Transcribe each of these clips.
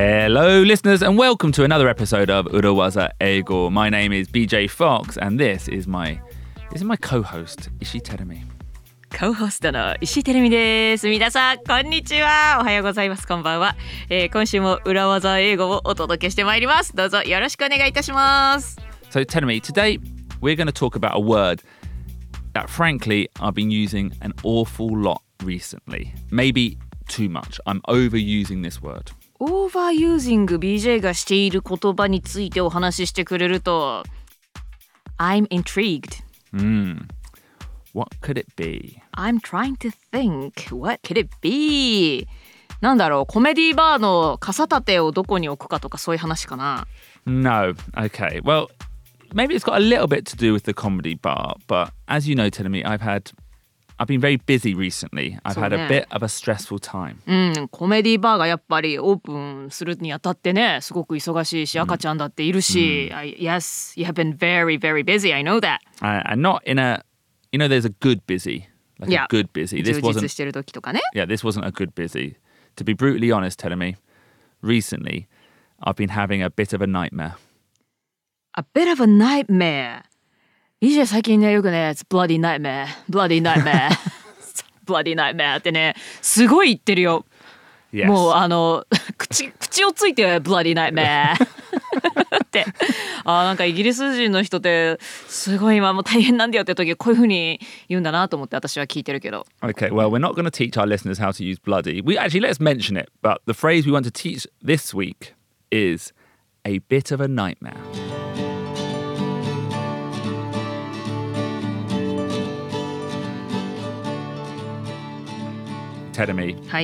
Hello, listeners, and welcome to another episode of Urawaza Eigo. My name is BJ Fox, and this is my co-host, Ishii Terumi. コホストの石井てるみです。皆さんこんにちは。おはようございます。こんばんは。今週も裏技英語をお届けしてまいります。どうぞよろしくお願いいたします。 So Terumi, today we're going to talk about a word that frankly I've been using an awful lot recently. Maybe too much. I'm overusing this word. オーバーユージング BJ がしている言葉についてお話ししてくれると I'm intrigued. What could it be? I'm trying to think. What could it be? なんだろう、コメディバーの傘立てをどこに置くかとかそういう話かな。 No. Okay. Well, maybe it's got a little bit to do with the comedy bar, but as you know, Terumi, I've been very busy recently. I've had a bit of a stressful time. コメディバーがやっぱりオープンするにあたってね、すごく忙しいし、赤ちゃんだっているし、Yes, you have been very, very busy. I know that. And not in a, there's a good busy, like a good busy. 充実してる時とかね。 Yeah, this wasn't a good busy. To be brutally honest, Terumi, recently, I've been having a bit of a nightmare. A bit of a nightmare. BJ 最近ねよくね It's bloody nightmare bloody nightmare bloody nightmare ってねすごい言ってるよ、 Yes. もう口をついて bloody nightmare ってなんかイギリス人の人ってすごい今もう大変なんだよって時こういう風に言うんだなと思って私は聞いてるけど Okay, well, we're not going to teach our listeners how to use bloody. Let's mention it, but the phrase we want to teach this week is a bit of a nightmare. Terumi, はい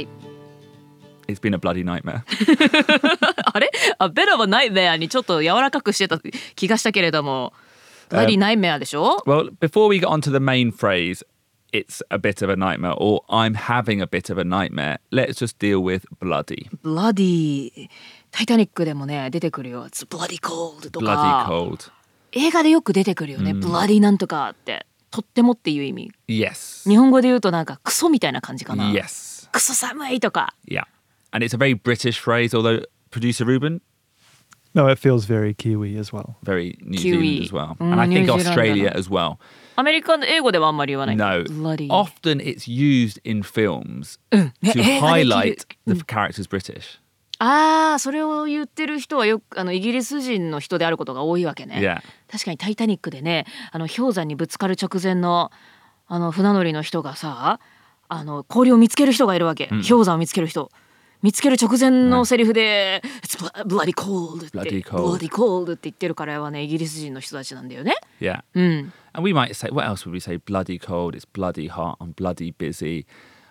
it's been a bloody nightmare. あれA bit of a nightmare にちょっと柔らかくしてた気がしたけれども bloody nightmare でしょ Well, before we get on to the main phrase, it's a bit of a nightmare, or I'm having a bit of a nightmare, let's just deal with bloody. bloody タイタニックでもね出てくるよ It's bloody cold と Bloody か cold. 映画でよく出てくるよね、bloody なんとかってとってもっていう意味 Yes. 日本語で言うとなんかクソみたいな感じかな Yes. クソ寒いとか Yeah. And it's a very British phrase, although producer Ruben, No, it feels very Kiwi as well. very New Kiwi. Zealand as well. And I think New Zealand Australia だな as well. アメリカの英語ではあんまり言わない No. bloody Often it's used in films ね to 映画で着 highlight る the character's British. それを言ってる人はよくイギリス人の人であることが多いわけね、 Yeah. 確かにタイタニックでね氷山にぶつかる直前の船乗りの人がさ氷を見つける人がいるわけ、氷山を見つける人見つける直前のセリフで、It's bloody cold って Bloody cold. bloody cold って言ってるからはねイギリス人の人たちなんだよね Yeah. And we might say, what else would we say? Bloody cold, it's bloody hot, I'm bloody busy,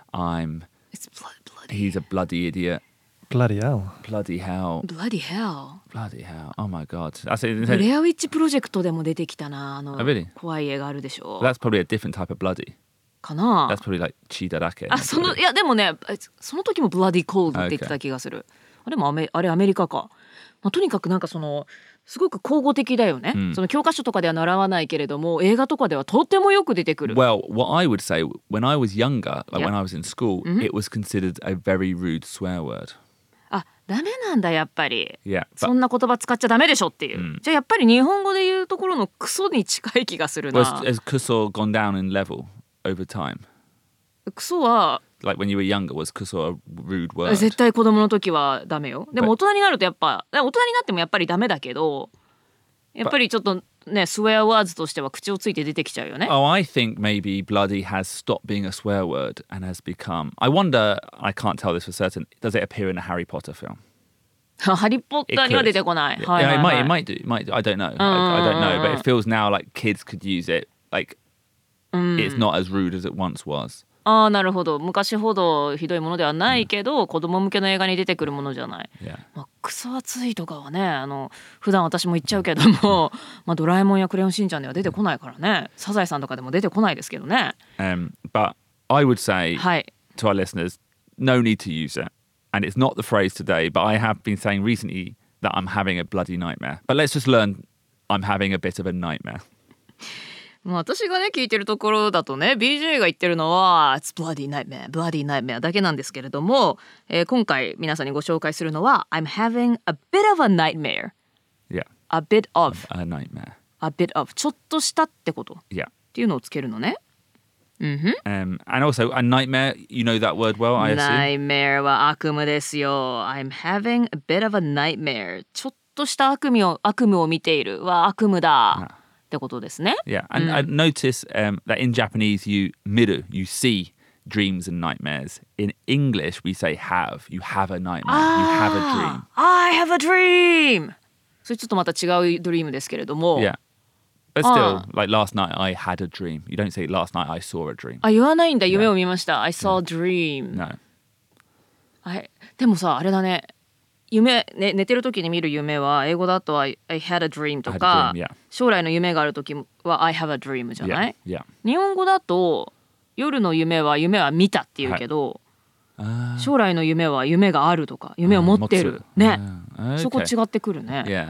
It's bloody he's a bloody idiot, Bloody hell. bloody hell, bloody hell bloody hell, oh my god. That's it. ブレアウィッチプロジェクトでも出てきたな really? 怖い映画あるでしょ That's probably a different type of bloody. かな That's probably like chidarake. いやでもねその時もブラディコールドって言ってた気がする、でもあれアメリカか、とにかくなんかすごく口語的だよね、その教科書とかでは習わないけれども映画とかではとってもよく出てくる Well, what I would say, when I was younger, like Yeah. when I was in school, it was considered a very rude swear word. ダメなんだやっぱり Yeah. そんな言葉使っちゃダメでしょっていう、じゃあやっぱり日本語で言うところのクソに近い気がする Well, な has kuso gone down in level over time? クソは Like when you were younger, was kuso a rude word? 絶対子供の時はダメよでも大人になると大人になってもやっぱりダメだけどやっぱりちょっとねスウェアワーズとしては口をついて出てきちゃうよね Oh, I think maybe bloody has stopped being a swear word and has become... I wonder, I can't tell this for certain, does it appear in a Harry Potter film? ハリーポッターには出てこない Yeah, はいはいはい it might do. I don't know. I don't know. But it feels now like kids could use it. Like, it's not as rude as it once was. なるほど昔ほどひどいものではないけど、子供向けの映画に出てくるものじゃない、 Yeah. クソ暑いとかはね普段私も言っちゃうけどもドラえもんやクレヨンしんちゃんでは出てこないからねサザエさんとかでも出てこないですけどね But I would say はい to our listeners, no need to use it. And it's not the phrase today, but I have been saying recently that I'm having a bloody nightmare. But let's just learn I'm having a bit of a nightmare. 私がね聞いてるところだとね BJ が言ってるのは It's bloody nightmare, bloody nightmare だけなんですけれども、今回皆さんにご紹介するのは I'm having a bit of a nightmare. Yeah. A bit of. A nightmare. A bit of. ちょっとしたってこと。 Yeah. っていうのをつけるのね。 And also a nightmare, you know that word well, I assume? Nightmare は悪夢ですよ。I'm having a bit of a nightmare. ちょっとした悪夢を見ているは悪夢だ。ってことですね。 Yeah, and I notice that in Japanese you see dreams and nightmares. In English we say have. You have a nightmare. You have a dream. I have a dream! それちょっとまた違うドリームですけれども。 Yeah. But still, like last night I had a dream. You don't say last night I saw a dream. 言わないんだ。夢を見ました。I saw a dream. No. でもさ、あれだね。寝てる時に見る夢は英語だと I had a dream とか I had a dream, yeah. 将来の夢がある時は I have a dream じゃない、 Yeah. 日本語だと夜の夢は見たっていうけど、将来の夢は夢があるとか夢を持ってるね、そこ違ってくるね。 Yeah.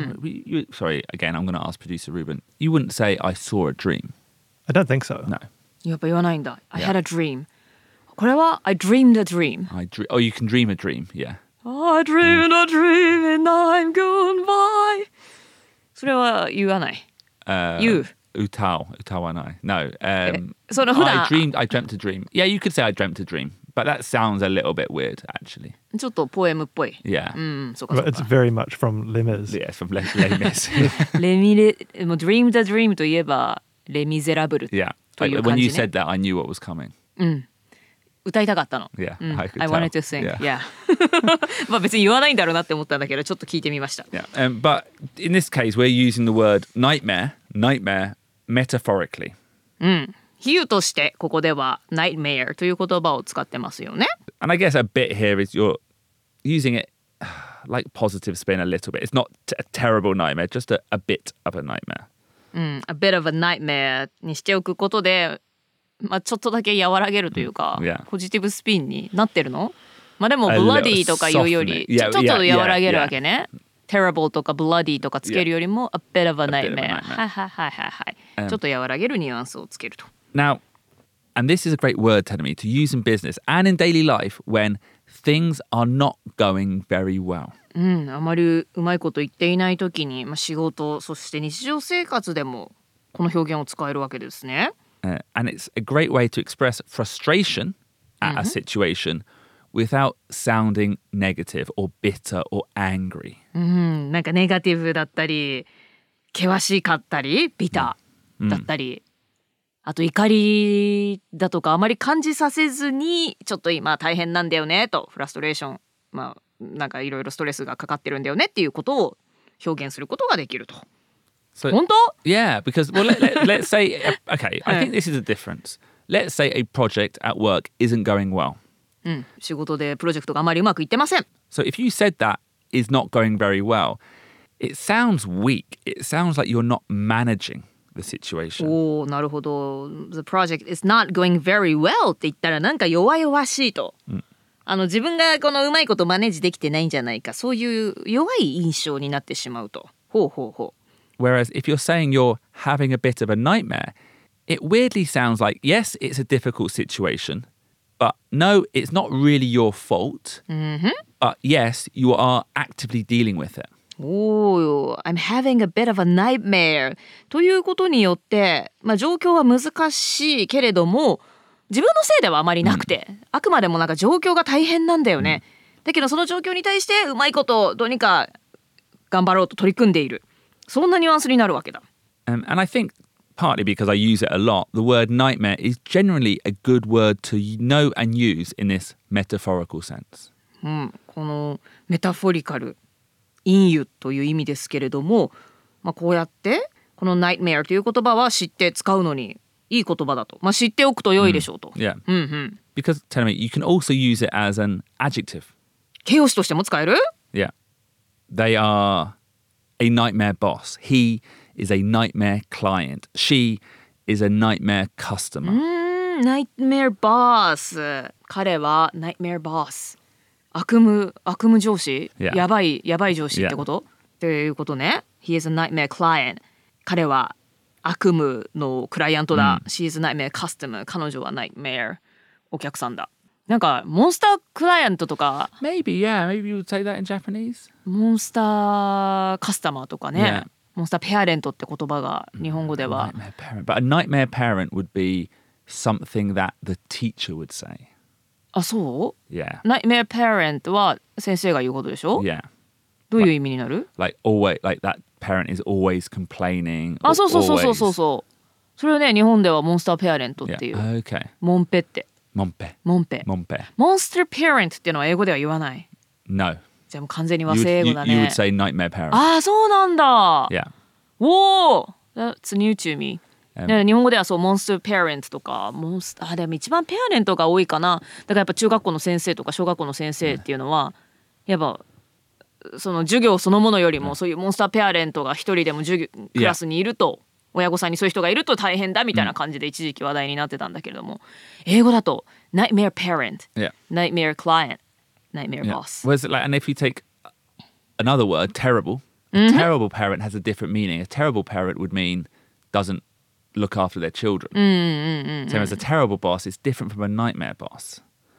Sorry, again, I'm going to ask producer Ruben. You wouldn't say I saw a dream. I don't think so. No. やっぱ言わないんだ。I had a dream. これは I dreamed a dream. Oh, you can dream a dream, yeah. I dreamed a dream and I'm gone by. それは言わない。言う。 歌わない。No. その普段 I dreamt a dream. Yeah, you could say I dreamt a dream. But that sounds a little bit weird, actually. ちょっとポエムっぽい。 Yeah. そうかそう It's か。 very much from Les Mis. Yeah, from Les Mis. もう Dreamed a Dream といえばレ・ミゼラブル Yeah. という When 感 you じね。 said that, I knew what was coming. 歌いたかったの。 Yeah, I could I wanted to tell. sing. Yeah. まあ別に言わないんだろうなって思ったんだけど、ちょっと聞いてみました。 Yeah. But in this case, we're using the word nightmare metaphorically. 比喩としてここでは nightmare という言葉を使ってますよね。 And I guess a bit here is you're using it like positive spin a little bit. It's not a terrible nightmare, just a bit of a nightmare. A bit of a nightmare にしておくことで、まあちょっとだけ和らげるというか、 Yeah. ポジティブスピンになってるの？まあでも A little bloody とかいうより soften it. ちょっと Yeah, 和らげる yeah, わけね。terrible とか bloody とかつけるよりも a bit of a bit of a nightmare。 nightmare. はい。ちょっと和らげるニュアンスをつけると。 Now, and this is a great word, Tenemy, to use in business and in daily life when things are not going very well. あまりうまいこと言っていない時に、仕事そして日常生活でもこの表現を使えるわけですね。 And it's a great way to express frustration at a situation without sounding negative or bitter or angry. なんかネガティブだったり険しかったりビターだったり、あと怒りだとかあまり感じさせずにちょっと今大変なんだよねとフラストレーションなんかいろいろストレスがかかってるんだよねっていうことを表現することができると。 So, 本当？ Yeah, because let's say, okay, I think this is a difference. Let's say a project at work isn't going well. 仕事でプロジェクトがあまりうまくいってません。 So if you said that is not going very well, it sounds weak. It sounds like you're not managing the situation. おー、なるほど。The project is not going very well って言ったらなんか弱々しいと。自分がこのうまいことマネージできてないんじゃないか、そういう弱い印象になってしまうと。ほうほうほう。 Whereas if you're saying you're having a bit of a nightmare, it weirdly sounds like, yes, it's a difficult situation, but no, it's not really your fault. But yes, you are actively dealing with it. おー、I'm having a bit of a nightmare ということによって、状況は難しいけれども自分のせいではあまりなくて、あくまでもなんか状況が大変なんだよね、だけどその状況に対してうまいことどうにか頑張ろうと取り組んでいる、そんなニュアンスになるわけだ。 And I think partly because I use it a lot, the word nightmare is generally a good word to know and use in this metaphorical sense. このメタフォリカル隠喩という意味ですけれども、こうやってこの nightmare という言葉は知って使うのにいい言葉だと、知っておくと良いでしょうと。 Yeah. Because, tell me, you can also use it as an adjective. 形容詞としても使える？ Yeah. They are a nightmare boss. He is a nightmare client. She is a nightmare customer. nightmare boss。彼は nightmare boss。悪夢上司、 Yeah. やばい上司ってこと、っていうことね。He is a nightmare client。彼は悪夢のクライアントだ、She's a nightmare customer 彼女は nightmare お客さんだ。なんかモンスタークライアントとか Maybe you would say that in Japanese. モンスターカスタマーとかね、 Yeah. モンスターペアレントって言葉が日本語では Nightmare parent. But a nightmare parent would be something that the teacher would say. あ、そう Yeah. Nightmare parent は先生が言うことでしょ、 Yeah. どういう意味になる？ Like that parent is always complaining. あ、そうそうそうそう always- そうそう。それをね日本ではモンスターペアレントっ Yeah. ていう、 Okay. モンペって Mompe. モンペ Mompe. モンスターペアレントっていうのは英語では言わない。 No. じゃあもう完全に和 You 製英 would, 語 you, だ you ね。 would say nightmare parent. ああそうなんだ。 Yeah. おお That's new to me、 うんね、日本語ではそうモンスターペアレントとかでも一番ペアレントが多いかな。だからやっぱ中学校の先生とか小学校の先生っていうのは、やっぱその授業そのものよりもそういうモンスターペアレントが一人でもクラスにいると、親御さんにそういう人がいると大変だみたいな感じで一時期話題になってたんだけれども、英語だと Nightmare Parent、 Yeah. Nightmare Client、 Nightmare Yeah. Boss。 Whereas, like, and if you take another word, terrible, a terrible parent has a different meaning. A terrible parent would mean doesn't look after their children. Same as a terrible boss is different from a nightmare boss.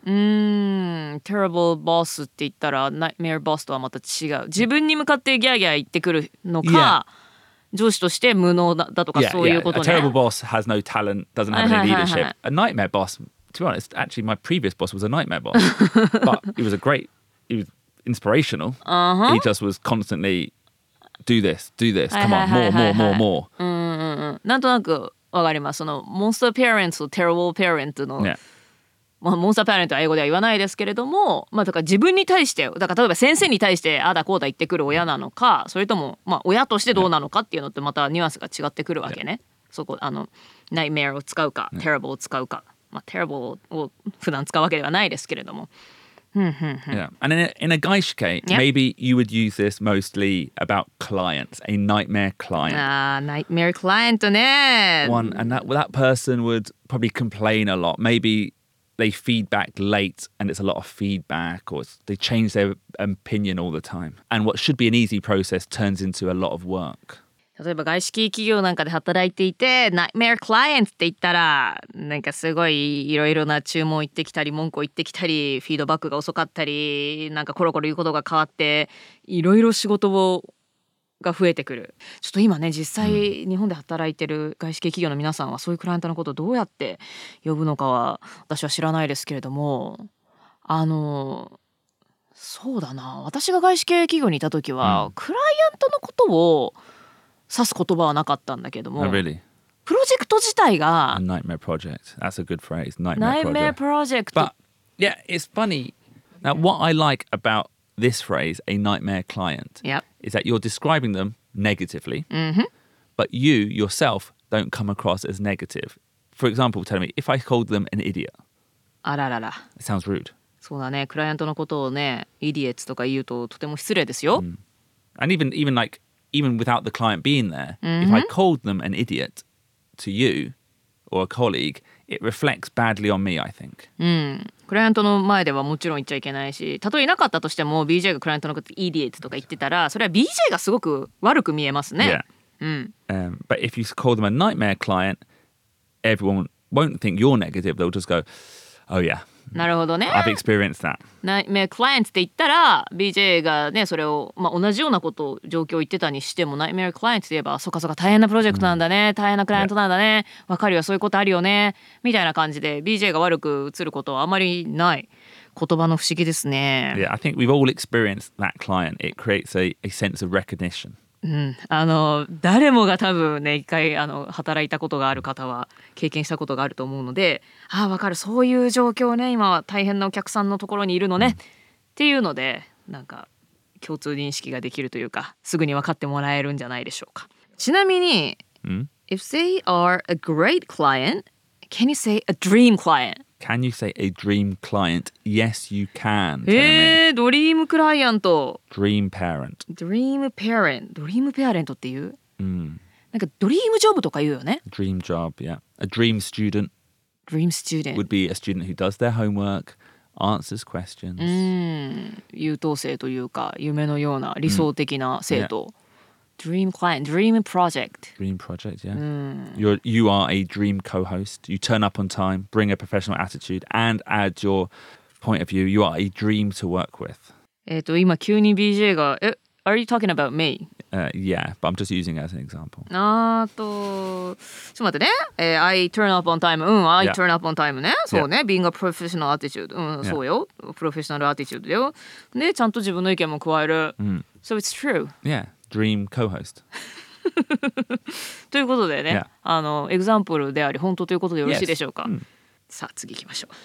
Terrible Boss って言ったら Nightmare Boss とはまた違う。自分に向かってギャーギャー言ってくるのか、上司として無能だとか Yeah, そういう yeah. こと A ね。 terrible boss has no talent, doesn't have any leadership. A nightmare boss, to be honest, actually my previous boss was a nightmare boss, but he was he was inspirational. He just was constantly do this, come on, more. なんとなくわかります。そのモンスターペアレントとテロボーペアレントの、 Yeah. まあ、モンスターペアレントは英語では言わないですけれども、まあ、だから自分に対してだから例えば先生に対してああだこうだ言ってくる親なのか、それともまあ親としてどうなのかっていうのってまたニュアンスが違ってくるわけね。そこNightmare を使うか Terrible を使うか、まあ、Terrible を普段使うわけではないですけれども。 Yeah. And in a Gaishike, Yeah. maybe you would use this mostly about clients, a nightmare client. ああ Nightmare Client ね。 And that person would probably complain a lot. Maybe they feedback late and it's a lot of feedback, or they change their opinion all the time. And what should be an easy process turns into a lot of work. 例えば外資系企業なんかで働いていて Nightmare Client って言ったらなんかすごいいろいろな注文言ってきたり文句を言ってきたりフィードバックが遅かったりなんかコロコロ言うことが変わっていろいろ仕事が増えてくる。ちょっと今ね実際日本で働いてる外資系企業の皆さんはそういうクライアントのことをどうやって呼ぶのかは私は知らないですけれども、そうだな、私が外資系企業にいた時は、クライアントのことを指す言葉はなかったんだけども、 Oh, really? プロジェクト自体が A nightmare project. That's a good phrase. Nightmare Nightmare project. Project But yeah, it's funny. Now, what I like about this phrase, a nightmare client, Yep. is that you're describing them negatively, but you yourself don't come across as negative. For example, tell me, if I called them an idiot, あららら、 it sounds rude. そうだね、クライアントのことをねイディエッツとか言うととても失礼ですよ、 And even without the client being there, if I called them an idiot to you or a colleague, it reflects badly on me, I think. クライアントの前ではもちろん言っちゃいけないし、たとえいなかったとしても BJ がクライアントのことイディエッツとか言ってたらそれは BJ がすごく悪く見えますね。 But if you call them a nightmare client, everyone won't think you're negative. They'll just go, oh yeah, なるほどね。 I've experienced that. Nightmare Client って言ったら BJ がねそれを、同じようなことを状況を言ってたにしても Nightmare Client って言えばそっかそっか大変なプロジェクトなんだね、大変なクライアントなんだね、わかるよそういうことあるよねみたいな感じで BJ が悪く映ることはあまりない言葉の不思議ですね。 Yeah, I think we've all experienced that client. It creates a sense of recognition. 誰もが多分ね一回働いたことがある方は経験したことがあると思うので、ああ分かるそういう状況ね今は大変なお客さんのところにいるのね、っていうのでなんか共通認識ができるというかすぐに分かってもらえるんじゃないでしょうか。ちなみに、If they are a great client, can you say a dream client? Can you say a dream client? Yes, you can. Tell me. ドリームクライアント Dream parent. ドリームペアレントドリームペアレントっていう、なんかドリームジョブとか言うよね。 Dream job, yeah. A dream student Dream student would be a student who does their homework, answers questions. 優等生というか夢のような理想的な生徒、 dream client, dream project. Dream project, yeah. You are a dream co-host. You turn up on time, bring a professional attitude, and add your point of view. You are a dream to work with. 今急に BJ がAre you talking about me? Yeah, but I'm just using it as an example. ちょっと待ってね。I turn up on time. I turn up on time ね。そうね。Being a professional attitude. そうよ。Professional attitude だよ。で、ちゃんと自分の意見も加える。So it's true. Yeah, dream co-host. ということでね、エグザンプルであり本当ということでよろしいでしょうか。さあ次行きましょう。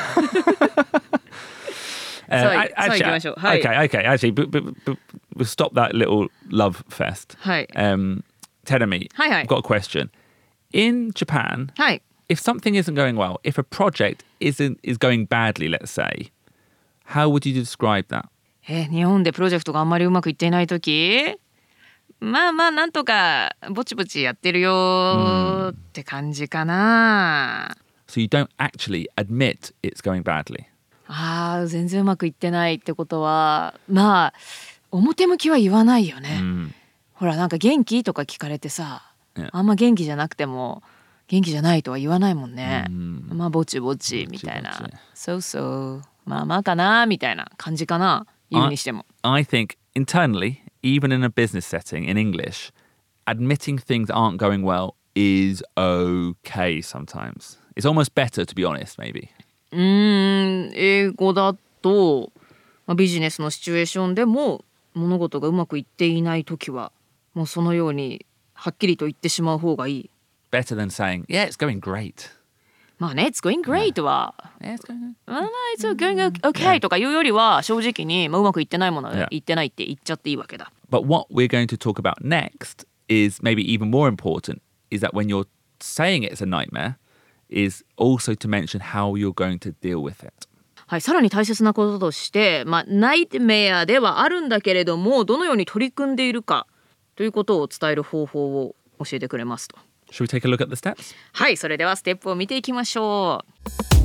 Okay. Actually, but we'll stop that little love fest. Terumi, I've got a question. In Japan, if something isn't going well, if a project is going badly, let's say, how would you describe that? 日本でプロジェクトがあんまりうまくいっていないとき、まあなんとかぼちぼちやってるよって感じかな。 So you don't actually admit it's going badly. 全然うまくいってないってことはまあ表向きは言わないよね、ほらなんか元気とか聞かれてさ、あんま元気じゃなくても元気じゃないとは言わないもんね、まあぼちぼちみたいな、そうまあかなみたいな感じかな、言うにしても。 I think internally, even in a business setting in English, admitting things aren't going well is okay sometimes. It's almost better to be honest, maybe. 英語だと、ビジネスのシチュエーションでも物事がうまくいっていないときはもうそのようにはっきりと言ってしまう方がいい。 Better than saying, yeah, it's going great. まあね、it's going great は、it's going okay とかいうよりは正直に、うまくいってないものは言ってないって言っちゃっていいわけだ。 But what we're going to talk about next is maybe even more important, is that when you're saying it's a nightmare, is also to mention how you're going to deal with it. はい、さらに大切なこととして、ナイトメアではあるんだけれども、どのように取り組んでいるかということを伝える方法を教えてくれますと。 Shall we take a look at the steps? はい、それではステップを見ていきましょう。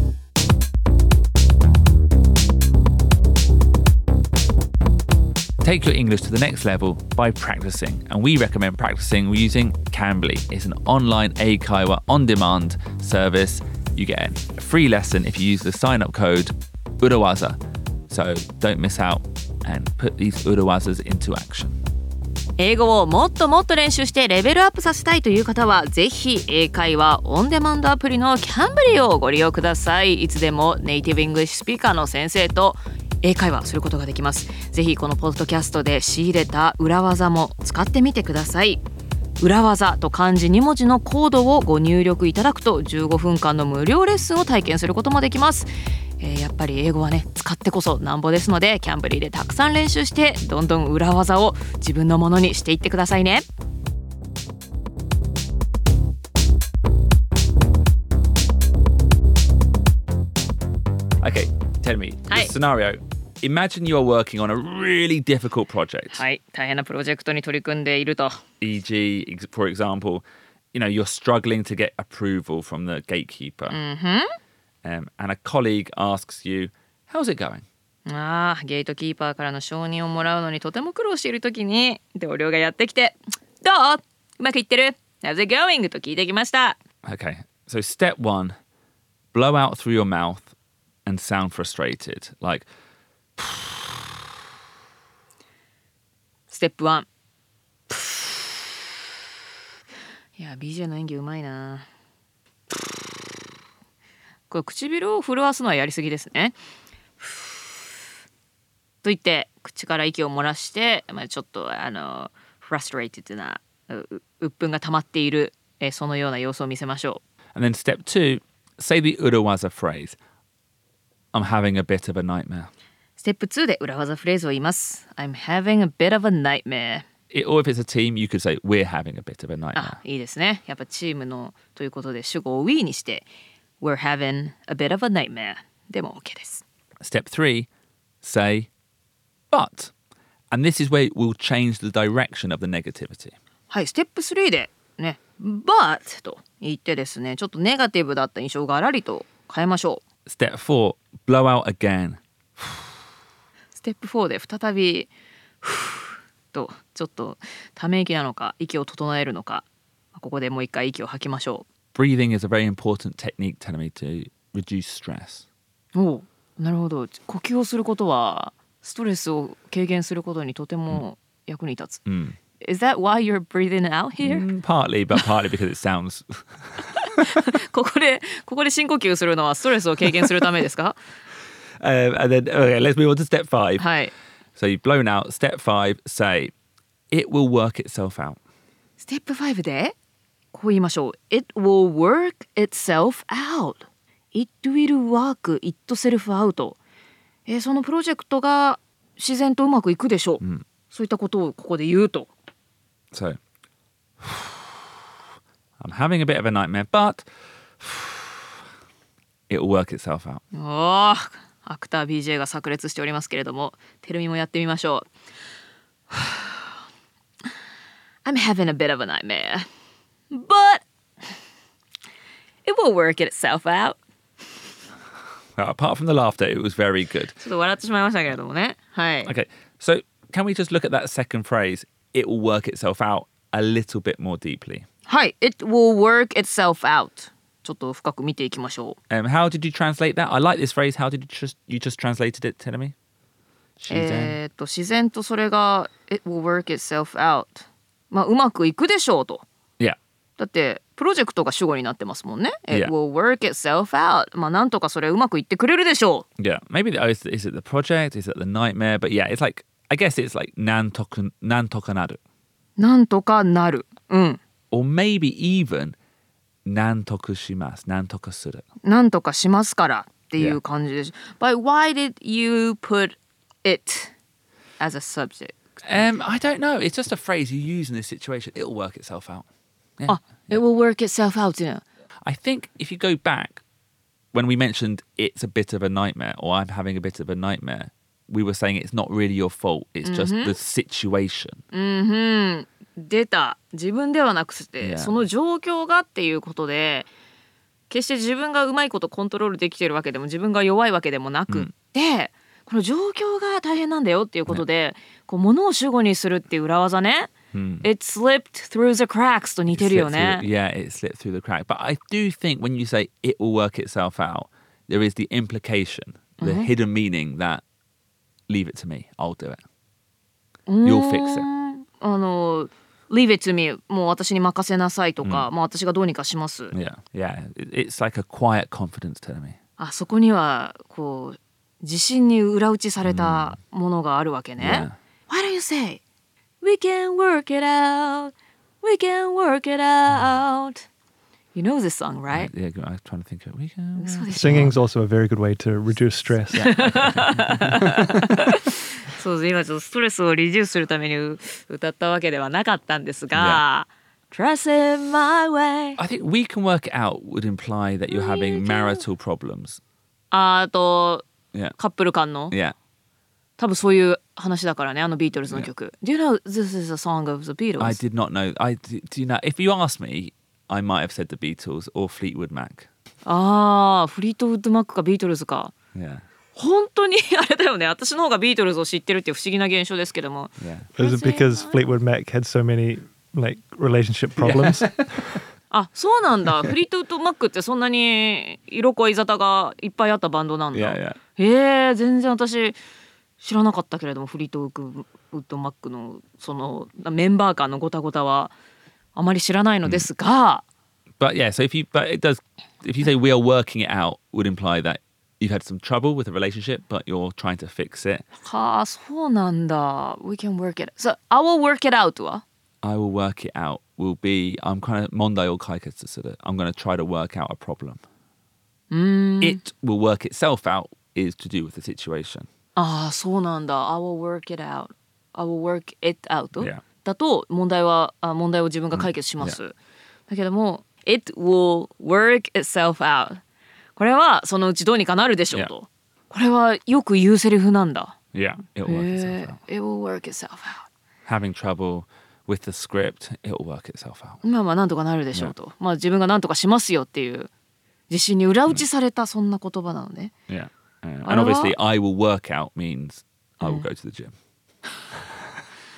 Take your English to the next level by practicing, and we recommend practicing using Cambly. It's an online Eikaiwa on-demand service. You get a free lesson if you use the sign-up code Urawaza. So don't miss out and put these Urawazas into action. 英語をもっともっと練習してレベルアップさせたいという方はぜひ英会話オンデマンドアプリのCamblyをご利用ください。いつでもネイティブイングリッシュスピーカーの先生と英会話することができます。ぜひこのポッドキャストで仕入れた裏技も使ってみてください。裏技と漢字2文字のコードをご入力いただくと15分間の無料レッスンを体験することもできます。やっぱり英語はね使ってこそなんぼですので、キャンブリーでたくさん練習してどんどん裏技を自分のものにしていってくださいね。 Okay, tell me the scenario. Imagine you are working on a really difficult project. はい、大変なプロジェクトに取り組んでいると。 E.g., for example, you're struggling to get approval from the gatekeeper. And a colleague asks you, how's it going? ゲートキーパーからの承認をもらうのにとても苦労しているときに同僚がやってきて、どう？うまくいってる？ How's it going? と聞いてきました。 Okay, so step 1, blow out through your mouth and sound frustrated. Like, Step 1. いや、BJ の演技うまいな。これ唇を震わすのはやりすぎですね。と言って口から息を漏らして、ちょっとfrustrated な鬱憤が溜まっている、そのような様子を見せましょう。And then step 2, say the Urawaza phrase. I'm having a bit of a nightmare. ステップ2で裏技フレーズを言います。I'm having a bit of a nightmare. Or if it's a team, you could say we're having a bit of a nightmare. いいですね。やっぱチームのということで主語を we にしてWe're having a bit of a nightmare. でも OK です。 Step 3, say, but. And this is where we'll change the direction of the negativity. はい、ステップ3でね、but と言ってですね、ちょっとネガティブだった印象がらりと変えましょう。Step 4, blow out again. ステップ4で再びちょっとため息なのか息を整えるのか、ここでもう一回息を吐きましょ Breathing is a very important technique, Tenemi, to reduce stress. う。おう、なるほど。呼吸をすることはストレスを軽減することにとても役に立つ。Is that why you're breathing out here? Partly, but partly because it sounds... ここで深呼吸するのはストレスを軽減するためですか？ and then, okay, let's move on to step 5. はい。 So you've blown out. Step 5, say, it will work itself out. ステップ5でこう言いましょう。It will work itself out. It will work itself out. そのプロジェクトが自然とうまくいくでしょう。そういったことをここで言うと。 So, I'm having a bit of a nightmare, but it will work itself out. おー、アクター BJ が炸裂しておりますけれども、テルミもやってみましょう。I'm having a bit of a nightmare, but it will work itself out. Well, apart from the laughter, it was very good. ちょっと笑ってしまいましたけれどもね。はい。 Okay, so can we just look at that second phrase, it will work itself out, a little bit more deeply? はい。It will work itself out. ちょっと深く見ていきましょう。 How did you translate that? I like this phrase. How did you just translated it, Tenemi? 自然とそれが It will work itself out. まあうまくいくでしょうと。 Yeah. だってプロジェクトが主語になってますもんね。It Yeah. will work itself out. まあなんとかそれうまくいってくれるでしょう。 Yeah. Maybe is it the project? Is it the nightmare? But yeah, it's like, I guess it's like nantoka naru. なんとかなる。うん。 Or maybe even nantoku shimasu, nantoka suru. なんとかしますからっていう感じです。But why did you put it as a subject? I don't know. It's just a phrase you use in this situation. It'll work itself out. Yeah. あ、It will work itself out っていうの。 I think if you go back, when we mentioned it's a bit of a nightmare or I'm having a bit of a nightmare, we were saying it's not really your fault. It's just the situation. 出た。自分ではなくて、 Yeah. その状況がっていうことで、決して自分がうまいことコントロールできてるわけでも自分が弱いわけでもなくって、この状況が大変なんだよっていうことで、こう物を主語にするっていう裏技ね。It slipped through the cracks と似てるよね。 Yeah, it slipped through the crack. But I do think when you say it will work itself out, there is the implication, the hidden meaning that leave it to me, I'll do it. You'll fix it. Leave it to me もう私に任せなさいとか、もう私がどうにかします。 Yeah, yeah. It's like a quiet confidence telling me. あそこにはこう自信に裏打ちされたものがあるわけね。Why don't you say, we can work it out, we can work it out. You know this song, right? Yeah, I was trying to think of it. We can... そうでしょ。 Singing's also a very good way to reduce stress. そうです。今ちょっとストレスをリデュースするために歌ったわけではなかったんですが、Trust in my way. I think we can work it out would imply that you're having marital problems. あと Yeah. カップル間の Yeah. 多分そういう話だからね、あのビートルズの曲。Do you know this is a song of the Beatles? I did not know. Do you know? If you asked me, I might have said the Beatles or Fleetwood Mac. ああ、フリートウッドマックかビートルズか。 Yeah. 本当にあれだよね。私の方がビートルズを知ってるっていう不思議な現象ですけども。 Yeah. Is it because Fleetwood Mac had so many like relationship problems? あ、そうなんだ。フリートウッドマックってそんなに色恋沙汰がいっぱいあったバンドなんだ。 Yeah, yeah. 全然私知らなかったけれども、フリートウッドマックのそのメンバー間のごたごたはあまり知らないのですが。 But yeah, so if you say we are working it out, would imply that you've had some trouble with a relationship, but you're trying to fix it. はあ、そうなんだ。We can work it. So, I will work it out は I will work it out will be I'm kind of 問題を解決する. I'm going to try to work out a problem. It will work itself out is to do with the situation. ああ、そうなんだ。I will work it out. I will work it out. Yeah. だと問題を自分が解決します。だけども It will work itself out. これはそのうちどうにかなるでしょうと。これはよく言うセリフなんだ。 Yeah, it will work itself out. It will work itself out. Having trouble with the script, it will work itself out. まあなんとかなるでしょうと。まあ自分がなんとかしますよっていう自信に裏打ちされたそんな言葉なのね。 Yeah. And obviously, I will work out means I will go to the gym.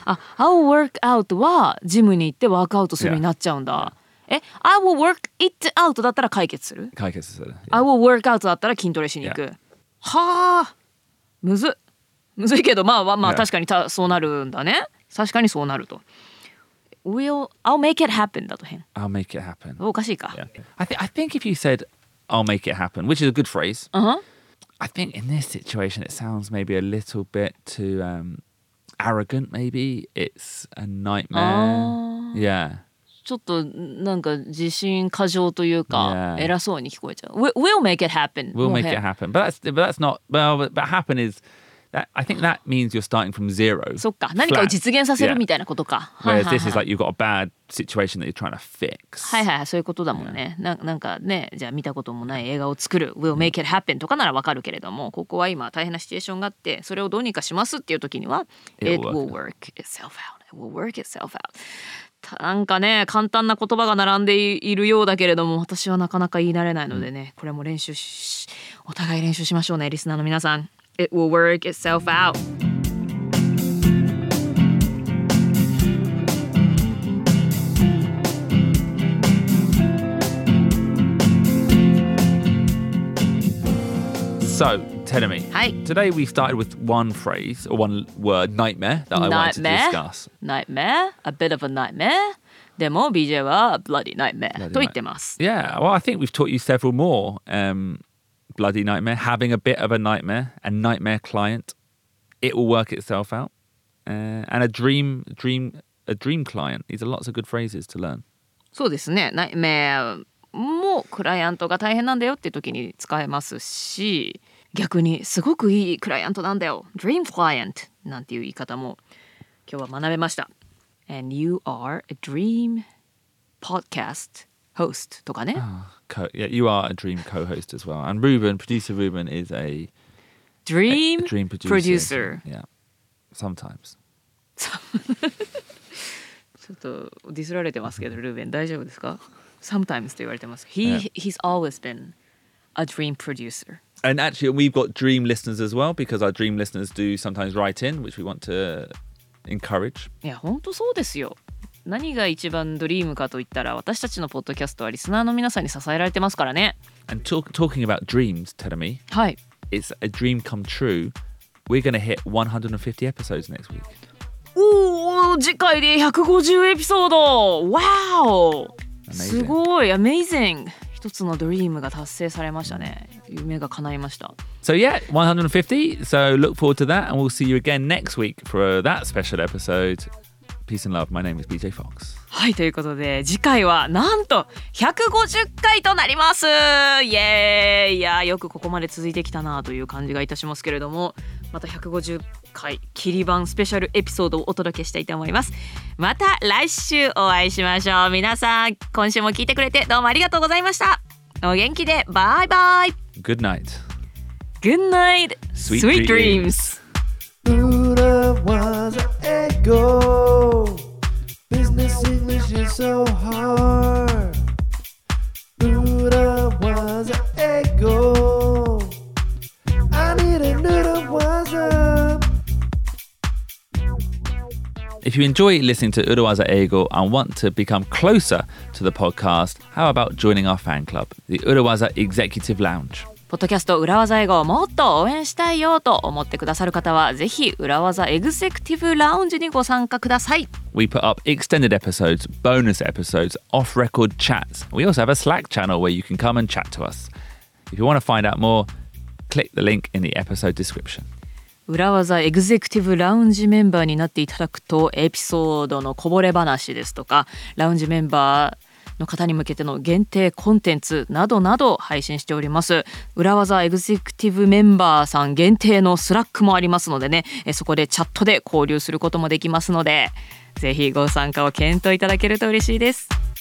I'll work out はジムに行ってワークアウトするになっちゃうんだ。I will work it out だったら解決する。 解決する。 I will work out だったら筋トレしに行く。はあ、むずいけどまあ確かにそうなるんだね。確かにそうなると。I'll make it happen だと変。 I'll make it happen. おかしいか。 Yeah. I think if you said I'll make it happen, which is a good phrase, I think in this situation it sounds maybe a little bit too arrogant. Maybe it's a nightmare. Yeah. ちょっとなんか自信過剰というか、偉そうに聞こえちゃう。We'll make it happen. We'll make it happen. But that's not. But happen is that I think that means you're starting from zero. そっか、何かを実現させるみたいなことか。 Whereas this is like you've got a bad situation that you're trying to fix. はいはい、そういうことだもんね。なんかね、じゃあ見たこともない映画を作る We'll make it happen とかならわかるけれども、ここは今大変なシチュエーションがあって、それをどうにかしますっていう時には It will work itself out. It will work itself out. なんかね、簡単な言葉が並んでいるようだけれども、私はなかなか言い慣れないのでね、これもお互い練習しましょうね、リスナーの皆さん。It will work itself out. So, Tenemi, today we started with one phrase or one word, nightmare, that I wanted to discuss. Nightmare? A bit of a nightmare? でも BJ は bloody nightmare と言ってます。 Yeah, well, I think we've taught you several more. Bloody nightmare, having a bit of a nightmare, a nightmare client, it will work itself out, and a dream client. These are lots of good phrases to learn. そうですね。nightmare もクライアントが大変なんだよって時に使えますし、逆にすごくいいクライアントなんだよ Dream Client なんていう言い方も今日は学べました。 And you are a dream podcast host とかね。 Yeah, you are a dream co-host as well. And producer Ruben is a dream producer. Yeah, sometimes. ちょっとディスられてますけど、ルーベン大丈夫ですか？ Sometimes と言われてます。He's always been a dream producer. And actually, we've got dream listeners as well, because our dream listeners do sometimes write in, which we want to encourage. いや、本当そうですよ。何が一番ドリームかと言ったら、私たちのポッドキャストはリスナーの皆さんに支えられてますからね。 And talking about dreams, Terumi, はい。 It's a dream come true. We're going to hit 150 episodes next week. おー、次回で150エピソード。Wow! すごい、amazing! 一つのドリームが達成されましたね。夢が叶いました。 So yeah, 150. So look forward to that, and we'll see you again next week for that special episode. Peace and love. My name is BJ Fox. はい、ということで次回はなんと150回となります。イエーイ。いや、よくここまで続いてきたなという感じがいたしますけれども、また150回切り版スペシャルエピソードをお届けしたいと思います。また来週お会いしましょう。皆さん、今週も聞いてくれてどうもありがとうございました。お元気で。バイバイ。 Good night. Good night. Sweet dreams. Buddha was an ego. Business English is so hard. Buddha was an ego. I need a noodle was a. If you enjoy listening to Urawaza Eigo and want to become closer to the podcast, how about joining our fan club, the Urawaza Executive Lounge? ポッドキャスト裏技英語をもっと応援したいよと思ってくださる方は、ぜひ裏技エグゼクティブラウンジにご参加ください。 We put up extended episodes, bonus episodes, off-record chats. We also have a Slack channel where you can come and chat to us. If you want to find out more, click the link in the episode description. 裏技エグゼクティブラウンジメンバーになっていただくと、エピソードのこぼれ話ですとか、ラウンジメンバーの方に向けての限定コンテンツなどなど配信しております。裏技エグゼクティブメンバーさん限定のスラックもありますのでね、そこでチャットで交流することもできますので、ぜひご参加を検討いただけると嬉しいです。